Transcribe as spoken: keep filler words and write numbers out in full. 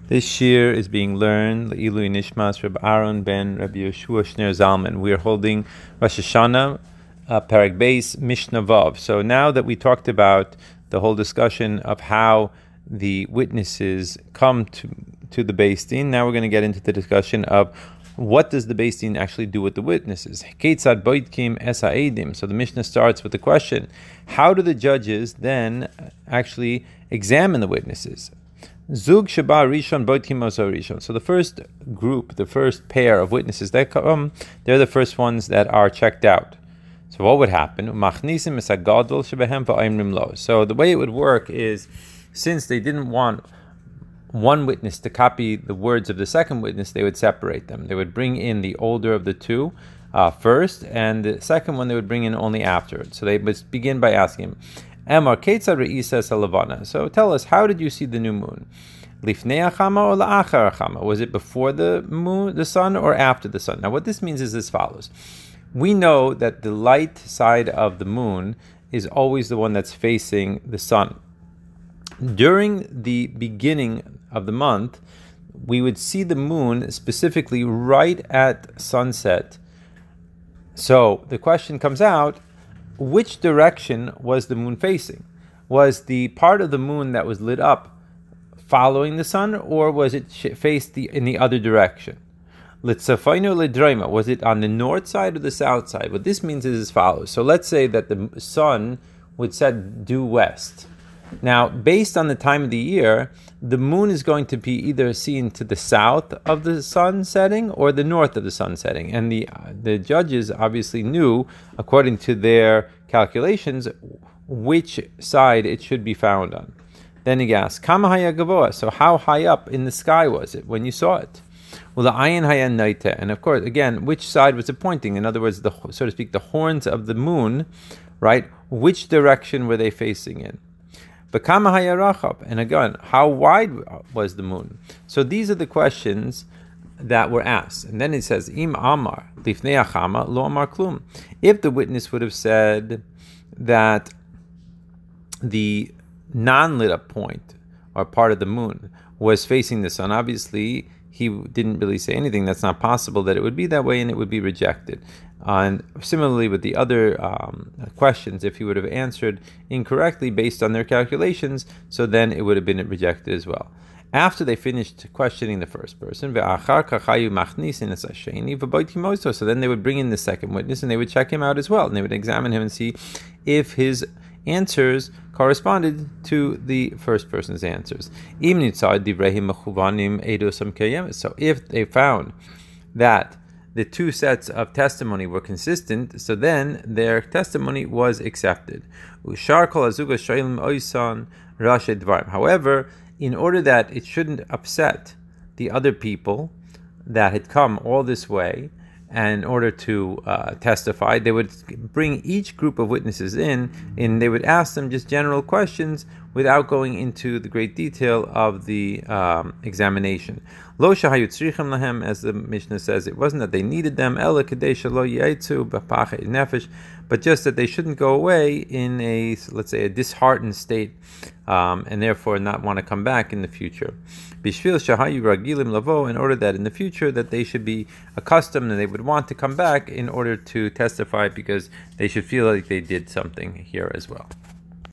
This shir is being learned Le'ilui Nishmas Reb Aaron ben Rabbi Yeshua Shner Zalman. We are holding Rosh Hashanah, uh, Perek Beis, Mishnah Vav. So now that we talked about the whole discussion of how the witnesses come to to the Beis Din, now we're going to get into the discussion of what does the Beis Din actually do with the witnesses. Keitzad boitkim es ha'edim. So the Mishnah starts with the question: how do the judges then actually examine the witnesses? Zug sheba rishon boitkim oso rishon. So the first group, the first pair of witnesses that come, they're the first ones that are checked out. So what would happen? Machnisim es hagadol shebehem va'imrim lo. So the way it would work is, since they didn't want one witness to copy the words of the second witness, they would separate them. They would bring in the older of the two uh, first, and the second one they would bring in only afterwards. So they would begin by asking him, Emar Ketzad Re'isa Salavana. So tell us, how did you see the new moon? Lifnei achama or la'achar achama? Was it before the moon, the sun, or after the sun? Now what this means is as follows. We know that the light side of the moon is always the one that's facing the sun. During the beginning of the month, we would see the moon specifically right at sunset. So the question comes out, which direction was the moon facing? Was the part of the moon that was lit up following the sun, or was it faced the, in the other direction? Litzafayno ledroima, was it on the north side or the south side? What this means is as follows. So let's say that the sun would set due west. Now, based on the time of the year, the moon is going to be either seen to the south of the sun setting or the north of the sun setting. And the the judges obviously knew, according to their calculations, which side it should be found on. Then he asks, Kama haya gavoa? So how high up in the sky was it when you saw it? Well, the ayin haya naita. And of course, again, which side was it pointing? In other words, the so to speak, the horns of the moon, right? Which direction were they facing in? Bekama haya rachab, and again, how wide was the moon? So these are the questions that were asked. And then it says, Im amar lifnei achama lo amar klum. If the witness would have said that the non-lit up point or part of the moon was facing the sun, obviously he didn't really say anything. That's not possible that it would be that way, and it would be rejected. Uh, and similarly with the other um, questions, if he would have answered incorrectly based on their calculations, so then it would have been rejected as well. After they finished questioning the first person, so then they would bring in the second witness and they would check him out as well, and they would examine him and see if his answers corresponded to the first person's answers. So if they found that the two sets of testimony were consistent, so then their testimony was accepted. However, in order that it shouldn't upset the other people that had come all this way, and in order to uh, testify, they would bring each group of witnesses in, and they would ask them just general questions without going into the great detail of the um, examination. Lo shahayu tzrichim lahem, as the Mishnah says, it wasn't that they needed them, ela kadei shelo yaitzu b'pachei nefesh, but just that they shouldn't go away in a, let's say, a disheartened state, um, and therefore not want to come back in the future. Bishvil shahayu ragilim lavo, in order that in the future that they should be accustomed and they would want to come back in order to testify, because they should feel like they did something here as well.